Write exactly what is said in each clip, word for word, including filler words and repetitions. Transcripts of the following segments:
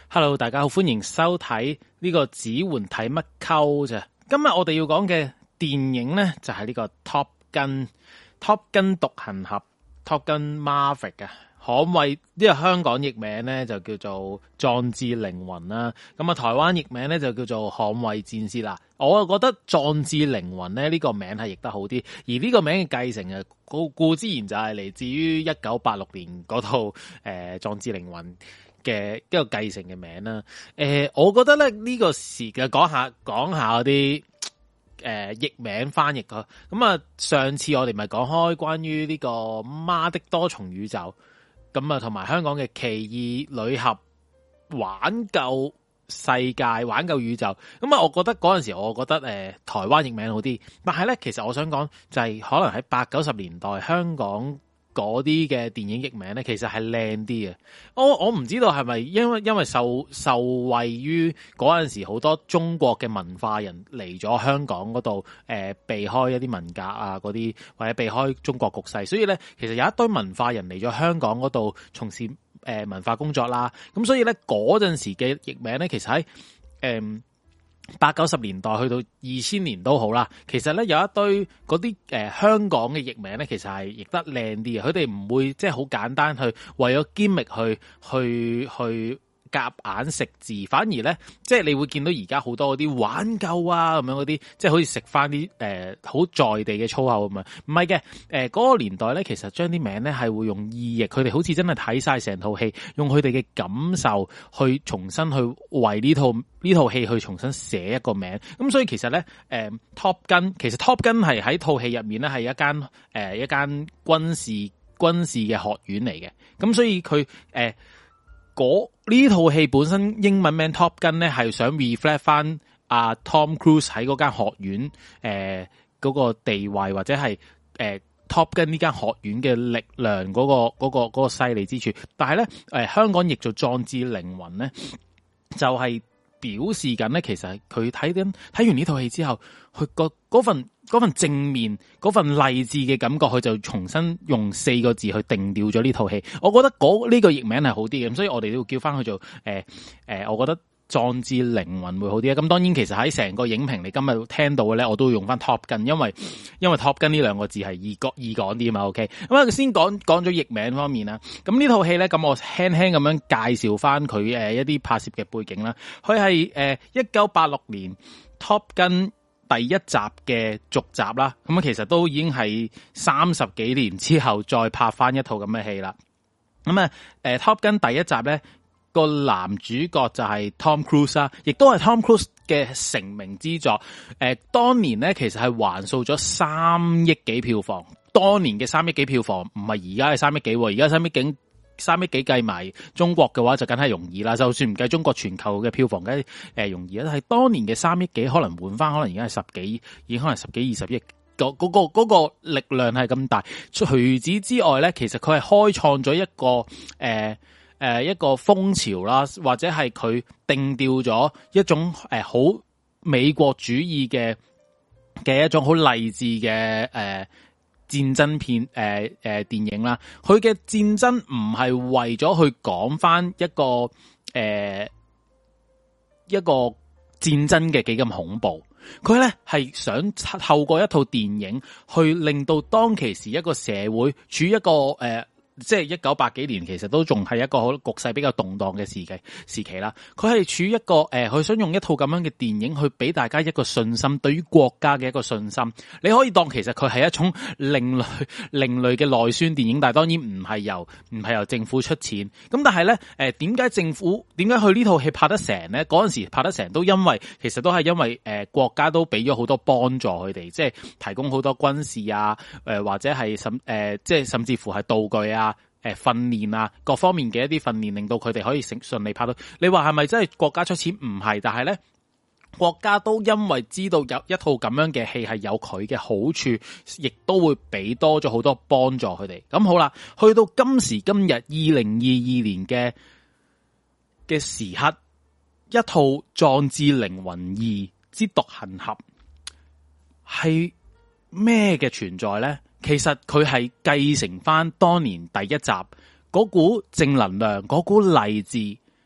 Hello， 大家好，歡迎收睇呢個指環睇乜溝啫。今日我哋要講嘅電影呢，就係、是、呢個 Top Gun，Top Gun 獨行俠 Top Gun Maverick 啊，捍衛呢個香港譯名呢，就叫做壯志凌雲啦。咁啊，台灣譯名呢，就叫做捍衛戰士啦。我啊覺得壯志凌雲呢，呢、這個名係譯得好啲，而呢個名嘅繼承啊，固固之然就係嚟自於一九八六年嗰套誒壯志凌雲嘅一個繼承嘅名啦，誒、呃，我覺得咧呢、這個時嘅講下講下嗰啲誒譯名翻譯咯。咁啊，上次我哋咪講開關於呢個媽的多重宇宙，咁啊同埋香港嘅奇異女俠挽救世界挽救宇宙，咁啊，我覺得嗰陣時我覺得誒、呃、台灣譯名好啲，但係咧其實我想講就係可能喺八九十年代香港嗰啲嘅電影譯名咧，其實係靚啲嘅。我我唔知道係咪因為因為受受惠於嗰陣時好多中國嘅文化人嚟咗香港嗰度，誒、呃、避開一啲文革啊嗰啲，或者避開中國局勢，所以咧其實有一堆文化人嚟咗香港嗰度從事誒、呃、文化工作啦。咁所以咧嗰陣時嘅譯名咧，其實喺誒。呃八九十年代去到二千年都好啦，其實咧有一堆嗰啲誒香港嘅譯名咧，其實係譯得靚啲嘅，佢哋唔會即係好簡單去為咗 gimmick 去去去夾硬食字，反而咧即係你會見到而家好多嗰啲挽救啊咁樣嗰啲，即係好似食翻啲誒好在地嘅粗口咁啊，唔係嘅，誒嗰個年代咧，其實將啲名咧係會用意譯，佢哋好似真係睇晒成套戲，用佢哋嘅感受去重新去為呢套呢套戲去重新寫一個名，咁所以其實咧，誒、呃、Top Gun 其實 Top Gun 係喺套戲入面咧係一間誒、呃、一間軍事軍事嘅學院嚟嘅，咁所以佢誒嗰呢套戲本身英文名 Top Gun 咧係想 reflect 翻阿 Tom Cruise 喺嗰間學院誒嗰、呃那個地位或者係誒、呃、Top Gun 呢間學院嘅力量嗰、那個嗰、那個嗰、那個犀利之處，但係咧誒香港譯做壯志凌雲咧就係、是。表示緊咧，其實佢睇緊睇完呢套戲之後，佢個嗰份嗰份正面嗰份勵志嘅感覺，佢就重新用四個字去定調咗呢套戲。我覺得嗰呢個譯名係好啲嘅，咁所以我哋都要叫翻佢做誒誒、呃呃，我覺得壯志凌雲會好啲啊。咁當然其實喺成個影評你今日聽到嘅咧，我都會用翻 Top Gun，因為因為 Top Gun 呢兩個字係易講易講啲啊嘛。OK，咁啊先講講咗譯名方面啦。咁呢套戲咧，咁我輕輕咁樣介紹翻佢誒一啲拍攝嘅背景啦。佢係誒一九八六年 Top Gun 第一集嘅續集啦。咁啊其實都已經係三十幾年之後再拍翻一套咁嘅戲啦。咁啊誒 Top Gun 第一集咧，個男主角就係 Tom Cruise 啦，亦都係 Tom Cruise 嘅成名之作。誒、呃，當年咧其實係橫掃咗三億幾票房。當年嘅三億幾票房唔係而家嘅三億幾，而家三億幾三億幾計埋中國嘅話就梗係容易啦。就算唔計中國全球嘅票房，梗係誒容易啦。係當年嘅三億幾，可能換翻，可能而家係十幾，已經可能十幾二十億。嗰、嗰個、嗰個力量係咁大。除此之外咧，其實佢係開創咗一個誒。呃誒、呃，一個風潮啦，或者係佢定調咗一種誒好、呃、美國主義嘅嘅一種好勵志嘅誒戰爭片誒誒、呃呃、電影啦。佢嘅戰爭唔係為咗去講翻一個誒、呃、一個戰爭嘅幾咁恐怖，佢咧係想透過一套電影去令到當其時一個社會處於一個誒。呃即係一九八幾年，其實都仲係一個好局勢比較動盪嘅時期時期啦。佢係處於一個誒，佢、呃、想用一套咁樣嘅電影去俾大家一個信心，對於國家嘅一個信心。你可以當其實佢係一種另類另類嘅內宣電影，但係當然唔係由唔係由政府出錢。咁但係咧，誒點解政府點解佢呢套戲拍得成咧？嗰陣時拍得成都因為其實都係因為誒、呃、國家都俾咗好多幫助佢哋，即係提供好多軍事啊，誒、呃、或者係甚誒即係甚至乎係道具啊。誒，訓練啊，各方面嘅一啲訓練，令到佢哋可以順順利拍到。你話係咪真係國家出錢？唔係，但係咧，國家都因為知道有一套咁樣嘅戲係有佢嘅好處，亦都會俾多咗好多幫助佢哋。咁好啦，去到今時今日二零二二年嘅嘅時刻，一套《壯志凌雲二之獨行俠》係咩嘅存在咧？其實佢係繼承翻當年第一集嗰股正能量、嗰股勵志，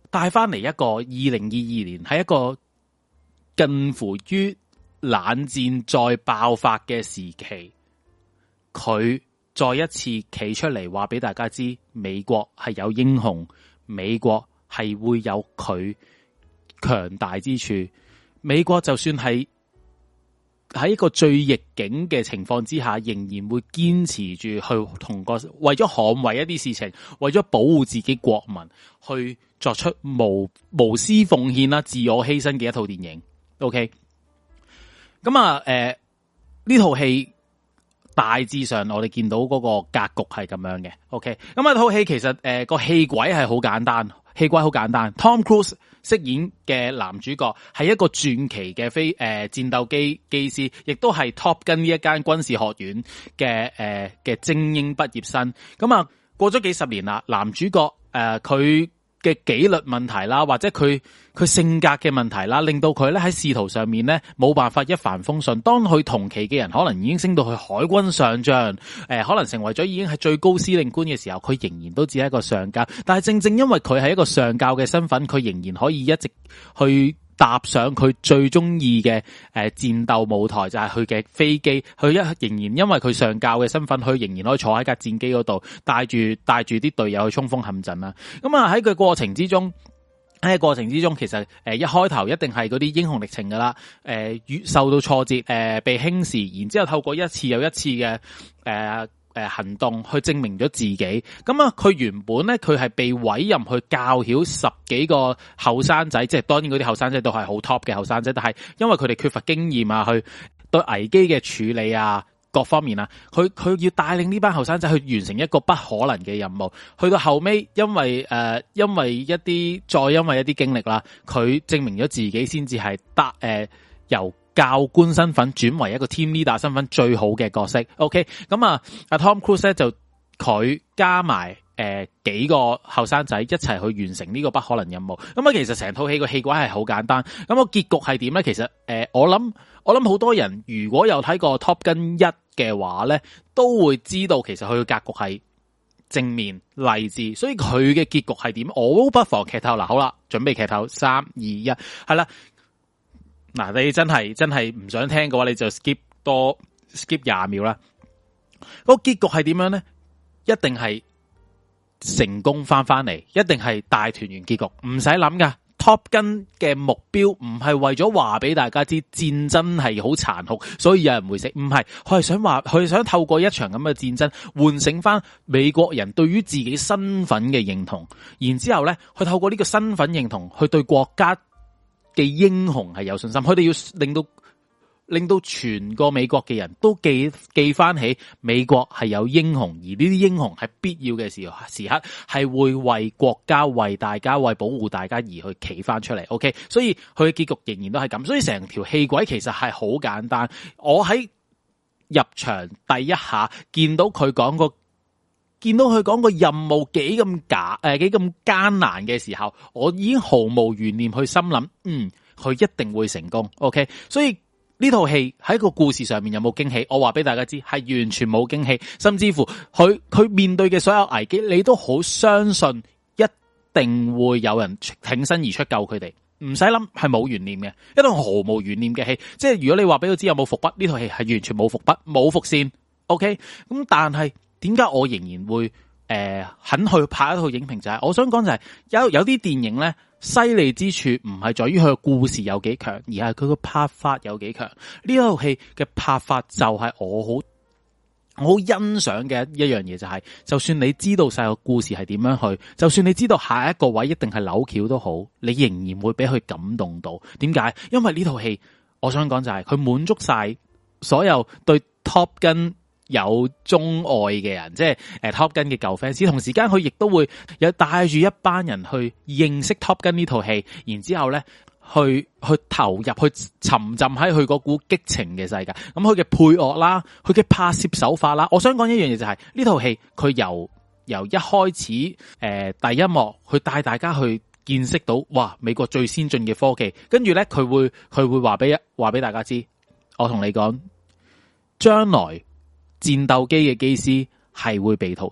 帶翻嚟一個二零二二年係一個近乎於冷戰再爆發嘅時期，佢再一次企出嚟話俾大家知，美國係有英雄，美國係會有佢強大之處。美國就算係喺一個最逆境嘅情況之下，仍然會堅持住去同個為咗捍衛一啲事情，為咗保護自己國民，去作出無無私奉獻啦、自我犧牲嘅一套電影。OK， 咁啊，誒呢套戲大致上我哋見到嗰個格局係咁樣嘅。OK， 咁啊套戲其實誒個戲軌係好簡單，戲軌好簡單。Tom Cruise 飾演嘅男主角係一個傳奇嘅飛誒、呃、戰鬥機機師，亦都係 Top Gun 呢一間軍事學院嘅誒嘅精英畢業生。咁啊過咗幾十年啦，男主角誒佢嘅紀律問題啦，或者佢佢性格嘅問題啦，令到佢咧喺仕途上面咧冇辦法一帆風順。當佢同期嘅人可能已經升到去海軍上將，誒、呃、可能成為咗已經係最高司令官嘅時候，佢仍然都只係一個上校。但係正正因為佢係一個上校嘅身份，佢仍然可以一直去踏上佢最中意嘅誒戰鬥舞台，就係佢嘅飛機。佢一仍然因為佢上校嘅身份，佢仍然可以坐喺架戰機嗰度，帶住帶住啲隊友去衝鋒陷陣啦。咁啊喺佢過程之中，喺過程之中，其實誒一開頭一定係嗰啲英雄歷程噶啦。誒遇受到挫折，誒被輕視，然之後透過一次又一次嘅誒誒行動去證明咗自己。咁啊，佢原本咧佢係被委任去教曉十幾個後生仔，即係當然嗰啲後生仔都係好 top 嘅後生仔，但係因為佢哋缺乏經驗啊，去對危機嘅處理啊，各方面啊，佢佢要帶領呢班後生仔去完成一個不可能嘅任務。去到後尾，因為誒、呃、因為一啲再因為一啲經歷啦，佢證明咗自己先至係得誒由教官身份轉為一個 team leader 身份最好嘅角色。OK， 咁啊，阿 Tom Cruise 咧就佢加埋誒、呃、幾個後生仔一齊去完成呢個不可能任務。咁啊，其實成套戲個戲軌係好簡單。咁個結局係點咧？其實誒、呃，我諗我諗好多人如果有睇過 Top Gun 一嘅話咧，都會知道其實佢嘅格局係正面勵志。所以佢嘅結局係點？我不妨劇透。嗱，好啦，準備劇透，三二一，係啦。嗱，你真係真係唔想聽嘅話，你就 skip 多 skip 廿秒啦。個結局係點樣咧？一定係成功翻翻嚟，一定係大團圓結局，唔使諗噶。Top Gun 嘅目標唔係為咗話俾大家知戰爭係好殘酷，所以有人會死，唔係，佢係想話，佢係想透過一場咁嘅戰爭喚醒翻美國人對於自己身份嘅認同，然之後咧，佢透過呢個身份認同去對國家嘅英雄係有信心，佢哋要令到令到全個美國嘅人都記記翻起美國係有英雄，而呢啲英雄係必要嘅時時刻係會為國家、為大家、為保護大家而去企翻出嚟。OK， 所以佢嘅結局仍然都係咁，所以成條戲軌其實係好簡單。我喺入場第一下見到佢講個見到佢講個任務幾咁假誒幾咁艱難嘅時候，我已經毫無懸念去心諗，嗯，佢一定會成功。OK， 所以呢套戲喺個故事上面有冇驚喜？我話俾大家知，係完全冇驚喜，甚至乎佢佢面對嘅所有危機，你都好相信一定會有人挺身而出救佢哋，唔使諗，係冇懸念嘅，一套毫無懸念嘅戲。即係如果你話俾佢知有冇伏筆，呢套戲係完全冇伏筆，冇伏線。OK， 咁但係點解我仍然會誒、呃、肯去拍一套影評？就係、是、我想講就係有有啲電影咧。犀利之處唔係在於佢嘅故事有幾強，而係佢個拍法有幾強。呢套戲嘅拍法就係我好我好欣賞嘅一樣嘢，就係就算你知道晒個故事係點樣去，就算你知道下一個位一定係扭橋都好，你仍然會俾佢感動到。點解？因為呢套戲我想講就係佢滿足晒所有對 Top Gun有鍾愛嘅人，即係誒 Top Gun 嘅舊 fans， 同時間佢亦都會有帶住一班人去認識 Top Gun 呢套戲，然之後咧去去投入去沉浸喺佢嗰股激情嘅世界。咁佢嘅配樂啦，佢嘅拍攝手法啦，我想講一樣嘢就係呢套戲佢由由一開始誒、呃、第一幕去帶大家去見識到哇美國最先進嘅科技，跟住咧佢會佢會話俾話俾大家知，我同你講將來。戰鬥機嘅機師係會被淘汰，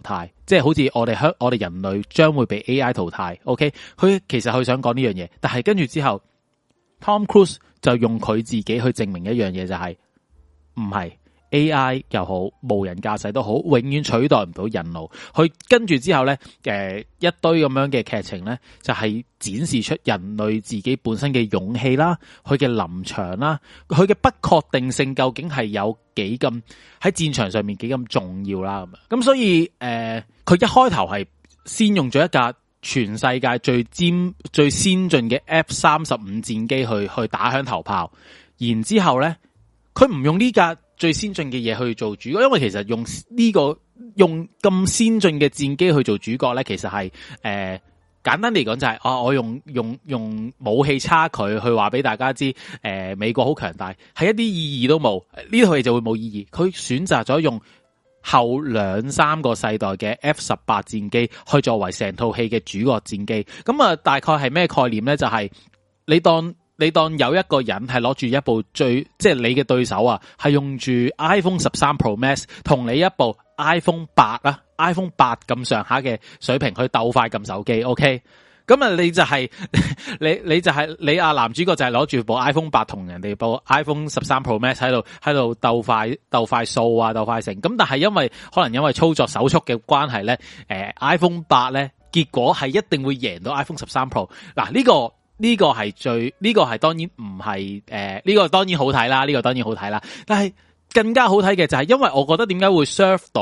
即係好似我哋香我哋人類將會被 A I 淘汰。OK， 佢其實佢想講呢樣嘢，但係跟住之後 Tom Cruise 就用佢自己去證明一樣嘢，就係唔係 A I 又好，無人駕駛都好，永遠取代唔到人腦。佢跟住之後咧，誒一堆咁樣嘅劇情咧，就係展示出人類自己本身嘅勇氣啦，佢嘅臨場啦，佢嘅不確定性究竟係有幾咁喺戰場上面幾咁重要啦咁啊。咁所以誒，佢、呃、一開頭係先用咗一架全世界最尖最先進嘅 F 三十五戰機去去打響頭炮，然之後咧，佢唔用呢架最先進嘅嘢去做主角，因為其實用呢、這個用咁先進嘅戰機去做主角咧，其實係誒、呃、簡單嚟講就係、是、啊，我用用用武器差距去話俾大家知，誒、呃、美國好強大，係一啲意義都冇，呢套戲就會冇意義。佢選擇咗用後兩三個世代嘅 F 十八戰機去作為成套戲嘅主角戰機，咁啊大概係咩概念咧？就係、是、你當。你當有一個人係攞住一部最即係你嘅對手啊，係用住 iPhone 十三 Pro Max 同你一部 iPhone 八啊 iPhone 八咁上下嘅水平去鬥快撳手機 ，OK？ 咁啊，你就係、是、你你就係、是、你啊男主角就係攞住部 iPhone 八同人哋部 iPhone 十三 Pro Max 喺度喺度鬥快鬥快掃啊鬥快成，咁但係因為可能因為操作手速嘅關係咧，誒、呃、iPhone 八咧結果係一定會贏到 iPhone 十三 Pro。嗱呢個。呢個係最，呢個係當然唔係，誒，呢個當然好睇啦，呢個當然好睇啦。但係更加好睇嘅就係，因為我覺得點解會 serve 到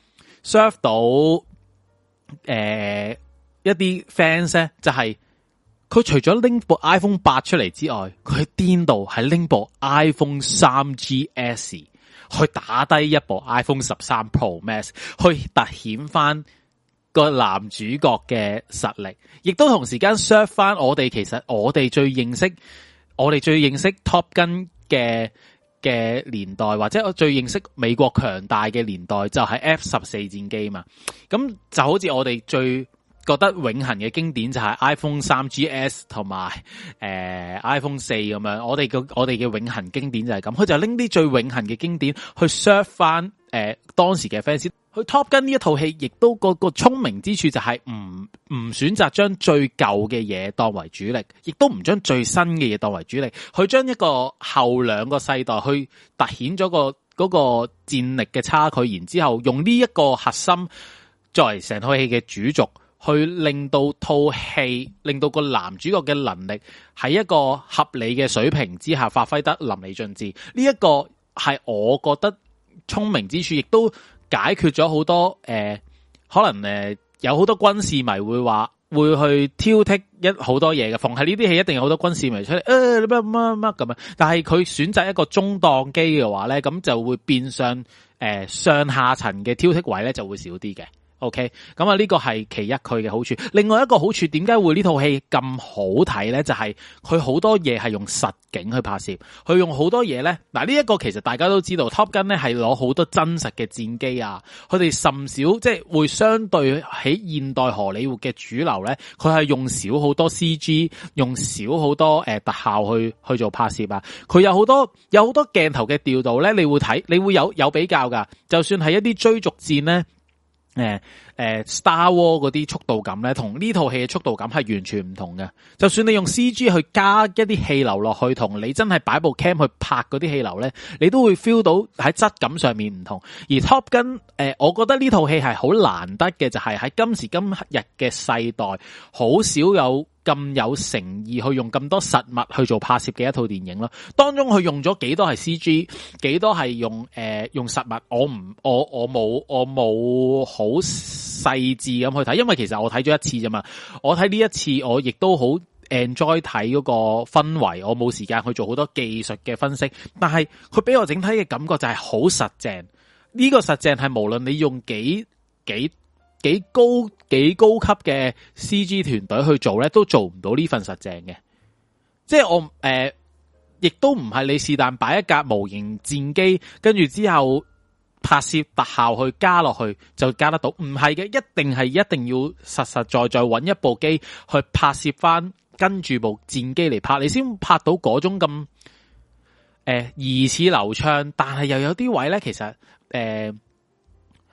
serve 到，誒、呃，一啲 fans 咧，就係佢除咗拎部 iPhone 八出嚟之外，佢癲到係拎部 iPhone 三 G S 去打低一部 iPhone 十三 Pro Max， 去凸顯翻個男主角嘅實力，亦都同時間 serve 翻我哋，其實我哋最認識，我哋最認識 Top Gun 嘅嘅年代，或者我最認識美國強大嘅年代，就係 F 十四戰機嘛。咁就好似我哋最覺得永恆嘅經典就係 iPhone 三 G S 同埋誒 iPhone 四咁樣。我哋嘅我哋嘅永恆經典就係咁，佢就拎啲最永恆嘅經典去 serve 翻誒當時嘅 fans。佢 Top Gun 呢一套戲，亦都個個聰明之處就係唔唔選擇將最舊嘅嘢當為主力，亦都唔將最新嘅嘢當為主力。佢將一個後兩個世代去凸顯咗個嗰個戰力嘅差距，然之後用呢一個核心作為成套戲嘅主軸，去令到套戲，令到個男主角嘅能力喺一個合理嘅水平之下發揮得淋漓盡致。呢一個係我覺得聰明之處，亦都解決咗好多誒、呃，可能誒、呃、有好多軍事迷會話會去挑剔一好多嘢嘅，逢係呢啲戲一定有好多軍事迷出嚟，誒乜乜乜咁樣。但係佢選擇一個中檔機嘅話咧，咁就會變相誒、呃、上下層嘅挑剔位咧就會少啲嘅。OK， 咁啊呢個係其一佢嘅好處。另外一個好處，點解會呢套戲咁好睇咧？就係佢好多嘢係用實景去拍攝，佢用好多嘢咧。嗱呢一個其實大家都知道 ，Top Gun 咧係攞好多真實嘅戰機啊。佢哋甚少即係會相對喺現代荷里活嘅主流咧，佢係用少好多 C G， 用少好多誒、呃、特效去去做拍攝啊。佢有好多有好多鏡頭嘅調度咧，你會睇，你會有有比較噶。就算係一啲追逐戰咧。誒誒、呃、Star War 嗰啲速度感咧，同呢套戲嘅速度感係完全唔同嘅。就算你用 C G 去加一啲氣流落去，同你真係擺部 cam 去拍嗰啲氣流咧，你都會 feel 到喺質感上面唔同。而 Top Gun 誒、呃，我覺得呢套戲係好難得嘅，就係、是、喺今時今日嘅世代，好少有咁有誠意去用咁多實物去做拍攝嘅一套電影咯。當中佢用咗幾多係 C G， 幾多係用誒、呃、用實物，我唔我我冇我冇好細緻咁去睇，因為其實我睇咗一次啫嘛。我睇呢一次我亦都好 enjoy 睇嗰個氛圍，我冇時間去做好多技術嘅分析，但係佢俾我整體嘅感覺就係好實淨。呢、這個實淨係無論你用幾幾。幾高幾高級嘅 C G 團隊去做咧，都做唔到呢份實淨嘅。即係我誒，亦、呃、都唔係你是但擺一架模型戰機，跟住之後拍攝特效去加落去就加得到，唔係嘅，一定係一定要實實在在揾一部機去拍攝翻，跟住部戰機嚟拍，你先拍到嗰種咁誒疑似流暢，但係又有啲位咧，其實誒。呃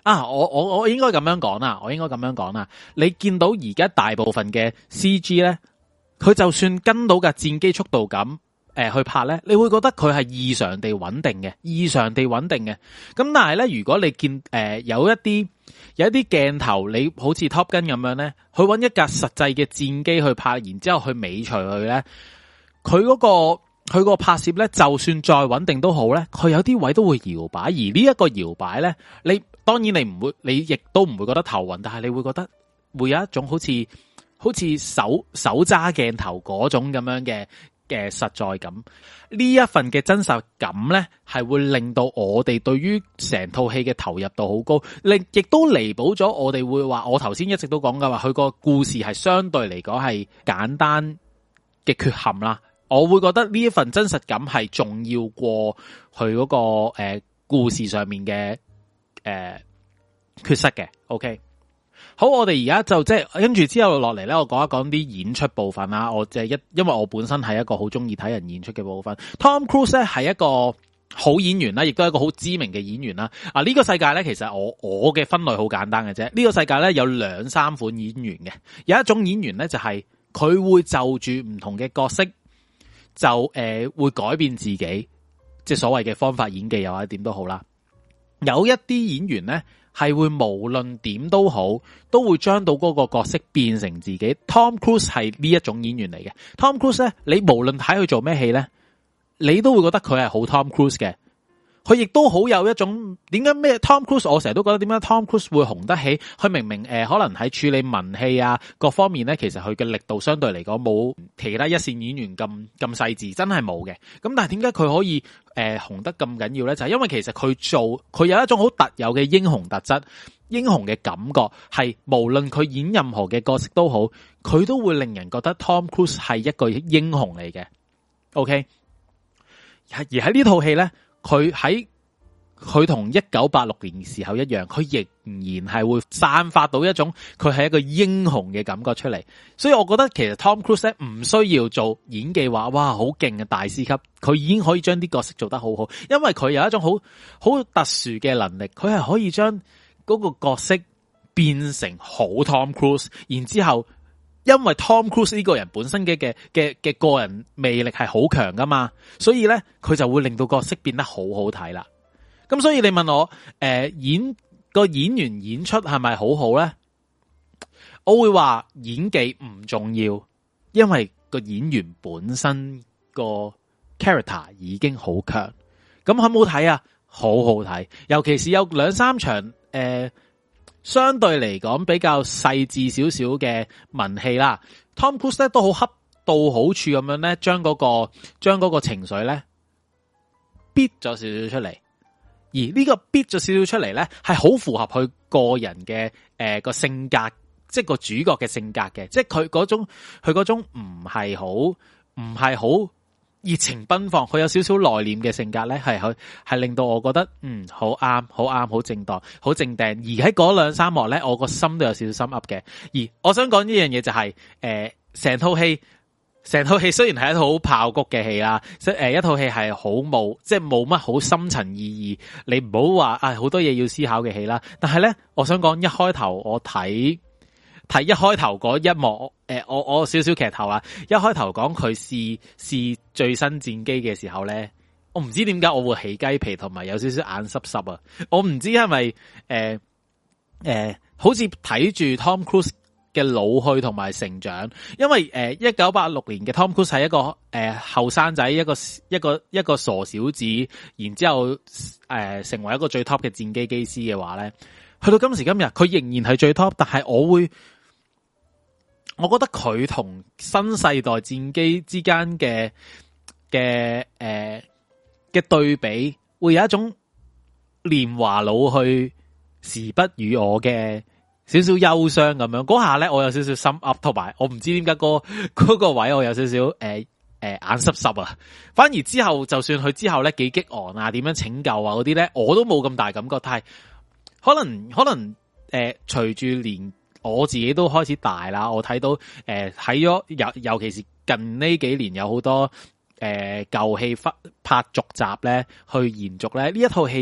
啊，我我我應該咁樣講啦，我應該咁樣講啦。你見到而家大部分嘅 C G 咧，佢就算跟到架戰機速度咁誒、呃、去拍咧，你會覺得佢係異常地穩定嘅，異常地穩定嘅。咁但係咧，如果你見誒、呃、有一啲有一啲鏡頭，你好似 Top Gun 咁樣咧，去揾一架實際嘅戰機去拍，然之後去尾隨佢咧，佢嗰、嗰個。佢個拍攝咧，就算再穩定都好咧，佢有啲位都會搖擺，而呢一個搖擺咧，你當然你唔會，你亦都唔會覺得頭暈，但係你會覺得會有一種好似好似手手揸鏡頭嗰種咁樣嘅嘅實在感。呢一份嘅真實感咧，係會令到我哋對於成套戲嘅投入度好高，令亦都彌補咗我哋會話，我頭先一直都講噶話，佢個故事係相對嚟講係簡單嘅缺陷啦。我會覺得呢一份真實感係重要過佢嗰、那個誒、呃、故事上面嘅誒、呃、缺失嘅。OK， 好，我哋而家就即係跟住之後落嚟咧，我講一講啲演出部分啦。我即係一因為我本身係一個好中意睇人演出嘅部分。Tom Cruise 咧係一個好演員啦，亦都係一個好知名嘅演員啦。啊，呢、這個世界咧其實我我嘅分類好簡單嘅啫。呢、這個世界咧有兩三款演員嘅，有一種演員咧就係、是、佢會就住唔同嘅角色。就誒、呃、會改變自己，即係所謂嘅方法演技又或者點都好啦。有一啲演員咧係會無論點都好，都會將到嗰個角色變成自己。Tom Cruise 係呢一種演員嚟嘅。Tom Cruise 咧，你無論睇佢做咩戲咧，你都會覺得佢係好 Tom Cruise 嘅。佢亦都好有一種點解咩 Tom Cruise， 我成日都覺得點解 Tom Cruise 會紅得起？佢明明誒、呃、可能喺處理文戲啊各方面咧，其實佢嘅力度相對嚟講冇其他一線演員咁咁細緻，真係冇嘅。咁但係點解佢可以誒、呃、紅得咁緊要咧？就係、是、因為其實佢做佢有一種好特有嘅英雄特質，英雄嘅感覺係無論佢演任何嘅角色都好，佢都會令人覺得 Tom Cruise 係一個英雄嚟嘅。OK， 而喺呢套戲咧。佢喺佢同一九八六年嘅時候一樣，佢仍然係會散發到一種佢係一個英雄嘅感覺出嚟。所以我覺得其實 Tom Cruise 唔需要做演技話哇好勁嘅大師級，佢已經可以將啲角色做得好好，因為佢有一種好好特殊嘅能力，佢係可以將嗰個角色變成好 Tom Cruise， 然之後因為 Tom Cruise 呢個人本身嘅嘅嘅嘅個人魅力係好強噶嘛，所以咧佢就會令到角色變得好好睇啦。咁所以你問我誒、呃、演個演員演出係咪好好咧？我會話演技唔重要，因為個演員本身個 character 已經好強。咁好唔好睇啊？好好睇，尤其是有兩三場誒。呃相對嚟講比較細緻少少嘅文戲啦 ，Tom Cruise 咧都好恰到好處咁樣咧，將嗰個將嗰個情緒咧逼咗少少出嚟，而呢個逼咗少少出嚟咧係好符合佢個人嘅誒個性格，即係個主角嘅性格嘅，即係佢嗰種佢嗰種唔係好唔係好熱情奔放，佢有少少內斂嘅性格咧，係係係令到我覺得嗯好啱，好啱，好正當，好正定。而喺嗰兩三幕咧，我個心都有少少心噏嘅。而我想講呢樣嘢就係、是、誒，成套戲成套戲雖然係一套好爆谷嘅戲啦，即係誒一套戲係好冇即係冇乜好深層意義，你唔好話啊好多嘢要思考嘅戲啦。但係咧，我想講一開頭我睇。睇一開頭嗰一幕，誒、呃，我我少少劇透啦。一開頭講佢試試最新戰機嘅時候咧，我唔知點解我會起雞皮，同埋有少少眼濕濕啊！我唔知係咪誒誒，好似睇住 Tom Cruise 嘅老去同埋成長，因為誒一九八六年嘅 Tom Cruise 係一個誒後生仔，一個一個一個傻小子，然之後誒、呃、成為一個最 top 嘅戰機機師嘅話咧，去到今時今日，佢仍然係最 top，但係我會。我覺得佢同新世代戰機之間嘅嘅誒嘅對比，會有一種年華老去時不與我嘅少少憂傷咁樣。嗰下咧，我有少少心噏，同埋我唔知點解嗰嗰個位我有少少誒誒眼濕濕啊。反而之後，就算佢之後咧幾激昂啊，點樣拯救啊嗰啲咧，我都冇咁大感覺。但係可能可能誒隨住年。我自己都開始大啦，我睇到誒睇咗尤尤其是近呢幾年有好多誒舊戲拍拍續集咧，去延續咧呢一套戲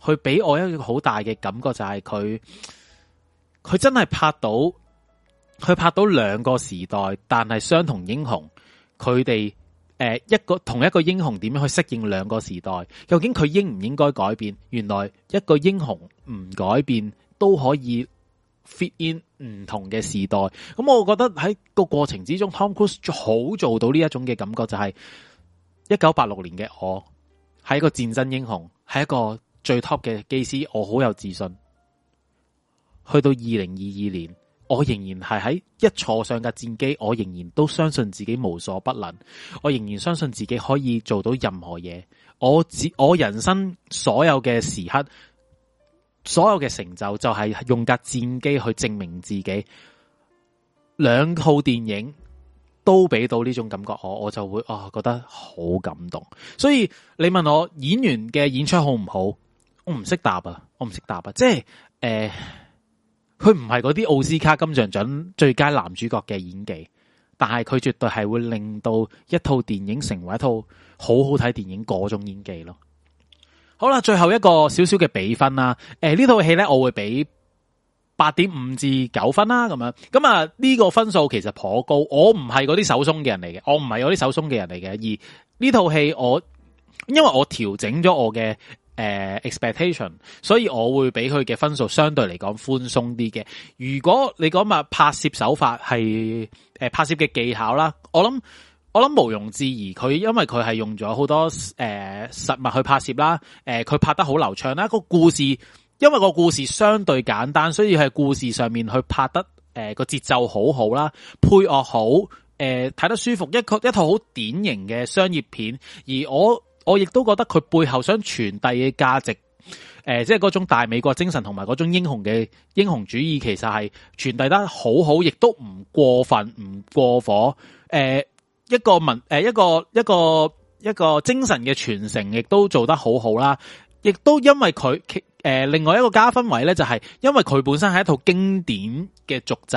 佢俾我一個好大嘅感覺就係佢佢真係拍到佢拍到兩個時代，但係相同英雄，佢哋誒一個同一個英雄點樣去適應兩個時代？究竟佢應唔應該改變？原來一個英雄唔改變都可以 fit in 唔同嘅時代。咁我覺得喺個過程之中 Tom Cruise 好做到呢一種嘅感覺，就係一九八六年嘅我係一個戰爭英雄，係一個最 top 嘅機師，我好有自信。去到二零二二年，我仍然係喺一坐上架戰機，我仍然都相信自己無所不能，我仍然相信自己可以做到任何嘢。我只我人生所有嘅時刻，所有嘅成就就係用架戰機去證明自己。兩套電影都俾到呢種感覺我，我就會啊、哦、覺得好感動。所以你問我演員嘅演出好唔好，我唔識答啊，我唔識答啊，即係誒。佢唔係嗰啲奧斯卡金像獎最佳男主角嘅演技，但係佢絕對係會令到一套電影成為一套好好睇電影嗰種演技咯。好啦，最後一個少少嘅比分啦。誒、呃，呢套戲咧我會俾八點五至九分啦，咁樣。咁啊呢個分數其實頗高，我唔係嗰啲手鬆嘅人嚟嘅，我唔係嗰啲手鬆嘅人嚟嘅。而呢套戲我因為我調整咗我嘅。誒、uh, expectation， 所以我會俾佢嘅分數相對嚟講寬鬆啲嘅。如果你講話拍攝手法係誒、呃、拍攝嘅技巧啦，我諗我諗毋庸置疑，佢因為佢係用咗好多誒、呃、實物去拍攝啦，誒、呃、佢拍得好流暢啦。個故事因為個故事相對簡單，所以喺故事上面去拍得誒個節奏好好啦，配樂好，誒、呃、睇得舒服，一個一套好典型嘅商業片，而我。我亦都覺得佢背後想傳遞嘅價值，誒、呃，即係嗰種大美國精神同埋嗰種英雄嘅英雄主義，其實係傳遞得好好，亦都唔過分，唔過火。誒、呃，一個文，誒、呃，一個一個一個精神嘅傳承，亦都做得好好啦。亦都因為佢，誒、呃，另外一個加分位咧，就係因為佢本身係一套經典嘅續集，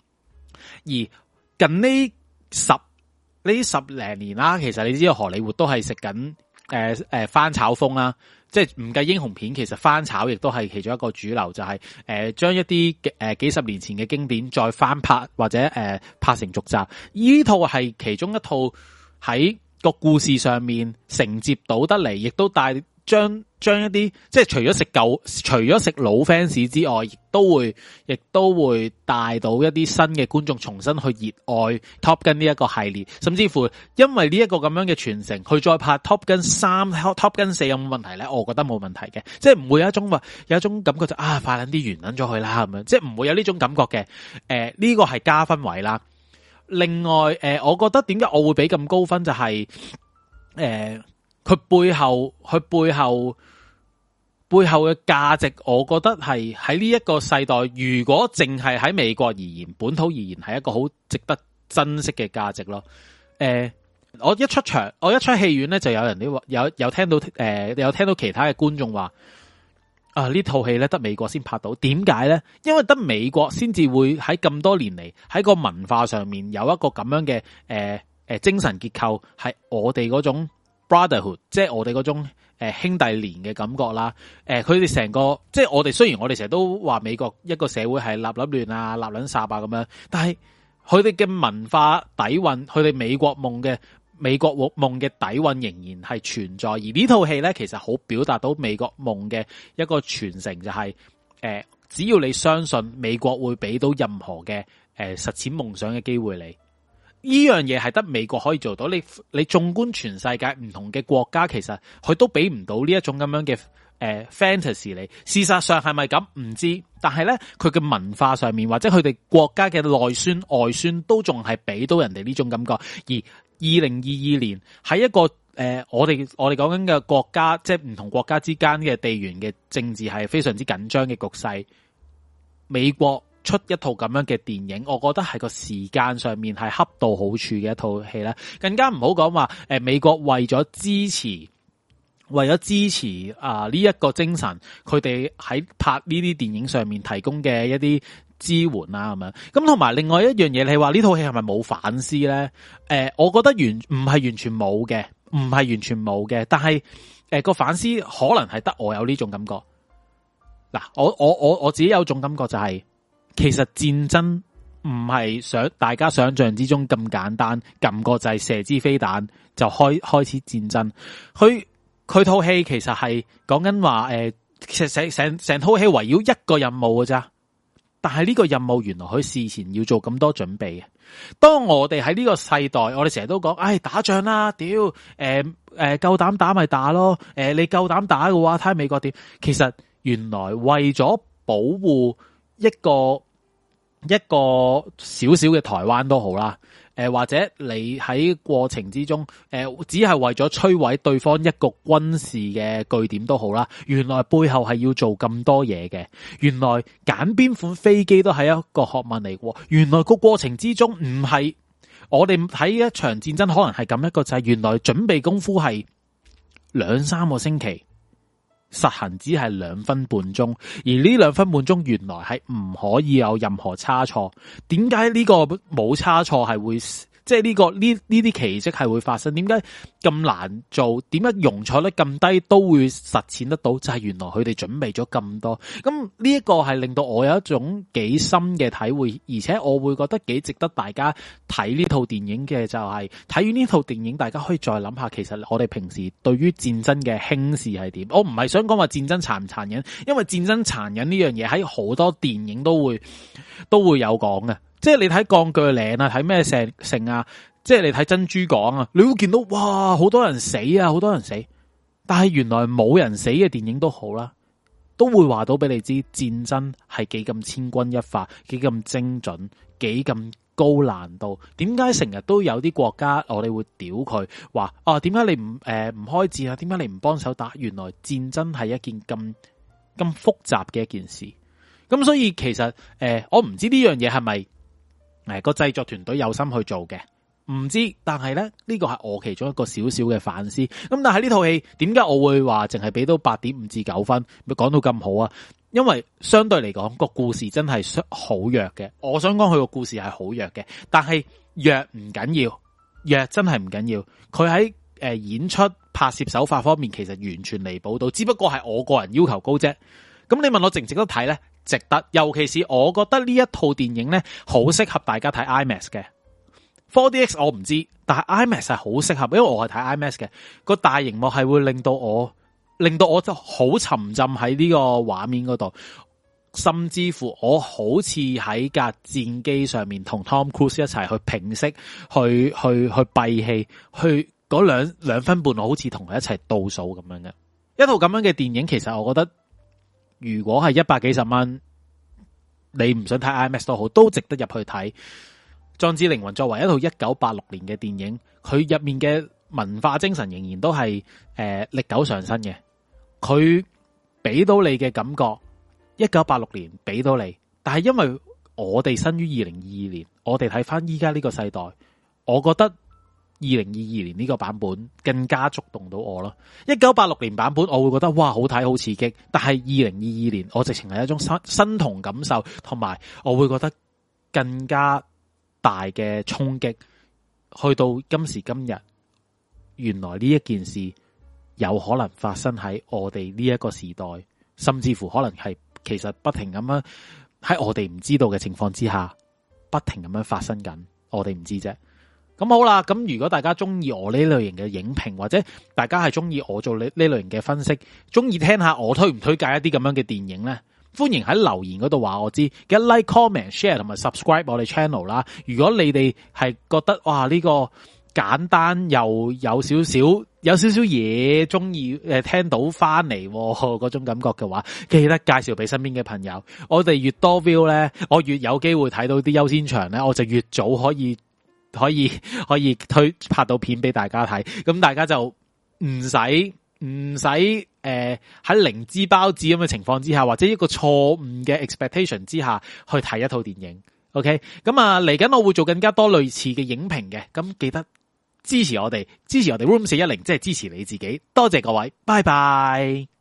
而近呢十呢十零年啦，其實你知道荷里活都係食緊。誒誒，翻炒風啦，即係唔計英雄片，其實翻炒亦都係其中一個主流，就係誒將一啲誒幾十年前嘅經典再翻拍或者誒、呃、拍成續集。呢套係其中一套喺個故事上面承接到得嚟，亦都帶將將一啲即係除咗食舊，除咗食老 fans 之外，亦都會亦都會帶到一啲新嘅觀眾重新去熱愛 Top Gun 呢一個系列，甚至乎因為呢一個咁樣嘅傳承，佢再拍 Top Gun 三、Top Gun 四有冇問題咧？我覺得冇問題嘅，即係唔會有一種話有一種感覺就啊快捻啲完捻咗佢啦咁樣，即係唔會有呢種感覺嘅。誒、呃、呢、這個係加分位啦。另外誒、呃，我覺得點解我會俾咁高分就係、是、誒。呃佢背後，佢背後背後嘅價值，我覺得係喺呢一個世代，如果淨係喺美國而言，本土而言，係一個好值得珍惜嘅價值咯。誒、呃，我一出場，我一出戲院咧，就有人啲話，有有聽到誒、呃，有聽到其他嘅觀眾話，啊呢套戲咧得美國先拍到，點解咧？因為得美國先至會喺咁多年嚟喺個文化上面有一個咁樣嘅誒誒精神結構，係我哋嗰種。Brotherhood， 即係我哋嗰種誒、呃、兄弟連嘅感覺啦。誒，佢哋成個即係我哋雖然我哋成日都話美國一個社會係立立亂啊、立撚殺啊咁樣，但係佢哋嘅文化底蘊，佢哋美國夢嘅美國夢嘅底蘊仍然係存在。而呢套戲咧，其實好表達到美國夢嘅一個傳承，就係、是、誒、呃，只要你相信美國會俾到任何嘅誒、呃、實踐夢想嘅機會你。呢樣嘢係得美國可以做到，你你縱觀全世界唔同嘅國家，其實佢都俾唔到呢一種咁樣嘅誒、呃、fantasy 你。事實上係咪咁唔知，但係咧佢嘅文化上面或者佢哋國家嘅內宣外宣都仲係俾到人哋呢種感覺。而二零二二年喺一個誒、呃、我哋我哋講緊嘅國家，即係唔同國家之間嘅地緣嘅政治係非常之緊張嘅局勢，美國出一套咁樣嘅電影，我覺得係個時間上面係恰到好處嘅一套戲啦。更加唔好講話誒，美國為咗支持，為咗支持啊呢一個精神，佢哋喺拍呢啲電影上面提供嘅一啲支援啦咁樣。咁同埋另外一樣嘢，你話呢套戲係咪冇反思咧？誒、呃，我覺得完唔係完全冇嘅。 唔係完全冇嘅，但係誒個反思可能係得我有呢種感覺。嗱，我我我我自己有種感覺就係、是，其實戰爭唔係想大家想象之中咁簡單，撳個掣射支飛彈就開開始戰爭。佢佢套戲其實係講緊話誒，其實成成成套戲圍繞一個任務㗎咋。但係呢個任務原來佢事前要做咁多準備嘅。當我哋喺呢個世代，我哋成日都講，唉，打仗啦，屌，誒、呃、誒，夠膽打咪打咯，誒、呃，你夠膽打嘅話，睇下美國點。其實原來為咗保護一個一個小小嘅台灣都好啦。誒、呃，或者你喺過程之中，誒、呃，只係為咗摧毀對方一個軍事嘅據點都好啦。原來背後係要做咁多嘢嘅。原來揀邊款飛機都係一個學問嚟嘅。原來個過程之中唔係我哋睇一場戰爭，可能係咁一個就係原來準備功夫係兩三個星期，實行只係兩分半鐘，而呢兩分半鐘原來係唔可以有任何差錯。點解呢個冇差錯係會，即係呢個呢呢啲奇蹟係會發生？點解咁難做？點解容錯率咁低都會實踐得到？就係原來佢哋準備咗咁多。咁呢一個係令到我有一種幾深嘅體會，而且我會覺得幾值得大家睇呢套電影嘅，就係睇完呢套電影，大家可以再諗下，其實我哋平時對於戰爭嘅輕視係點？我唔係想講話戰爭殘唔殘忍，因為戰爭殘忍呢樣嘢喺好多電影都會都會有講嘅。即係你睇鋼鋸嶺啊，睇咩成成啊，即係你睇珍珠港啊，你會見到哇，好多人死啊，好多人死。但係原來冇人死嘅電影都好啦，都會話到俾你知戰爭係幾咁千鈞一髮，幾咁精準，幾咁高難度。點解成日都有啲國家我哋會屌佢話啊？點解你唔誒唔開戰啊？點解你唔幫手打？原來戰爭係一件咁咁複雜嘅一件事。咁所以其實誒、呃，我唔知呢樣嘢係咪？誒，個製作團隊有心去做嘅，唔知，但係咧呢個係我其中一個小小嘅反思。咁但係呢套戲點解我會話淨係俾到八點五至九分？咪講到咁好啊？因為相對嚟講個故事真係好弱嘅。我想講佢個故事係好弱嘅，但係弱唔緊要，弱真係唔緊要。佢喺誒演出拍攝手法方面其實完全彌補到，只不過係我個人要求高啫。咁你問我值唔值得睇咧？值得，尤其是我覺得呢一套電影咧，好適合大家睇 IMAX 嘅。four D X 我唔知，但係 IMAX 係好適合，因為我係睇 IMAX 嘅。個大熒幕係會令到我，令到我就好沉浸喺呢個畫面嗰度，甚至乎我好似喺架戰機上面同 Tom Cruise 一齊去平息，去去去閉氣，去嗰兩兩分半，我好似同佢一齊倒數咁樣嘅。一套咁樣嘅電影，其實我覺得。如果係一百幾十蚊，你唔想睇 IMAX 都好，都值得入去睇。壯志凌雲作為一套一九八六年嘅電影，佢入面嘅文化精神仍然都係誒歷久常新嘅。佢俾到你嘅感覺，一九八六年俾到你，但係因為我哋生於二零二二年，我哋睇翻依家呢個世代，我覺得。二零二二年呢個版本更加觸動到我咯。一九八六年版本我會覺得哇好睇好刺激，但係二零二二年我直情係一種身身同感受，同埋我會覺得更加大嘅衝擊。去到今時今日，原來呢一件事有可能發生喺我哋呢一個時代，甚至乎可能係其實不停咁樣喺我哋唔知道嘅情況之下，不停咁樣發生緊，我哋唔知啫。咁好啦，咁如果大家中意我呢類型嘅影評，或者大家係中意我做呢呢類型嘅分析，中意聽下我推唔推介一啲咁樣嘅電影咧，歡迎喺留言嗰度話我知，記得 like、comment、share 同埋 subscribe 我哋 channel 啦。如果你哋係覺得哇呢個簡單又有少少有少少嘢中意誒聽到翻嚟嗰種感覺嘅話，記得介紹俾身邊嘅朋友。我哋越多 view 咧，我越有機會睇到啲優先場咧，我就越早可以。可以可以推拍到片俾大家睇，咁大家就唔使唔使誒喺零知包子咁嘅情況之下，或者一個錯誤嘅 expectation 之下去睇一套電影。OK， 咁啊嚟緊我會做更加多類似嘅影評嘅，咁記得支持我哋，支持我哋 Room 四一零，即係支持你自己。多謝各位，拜拜。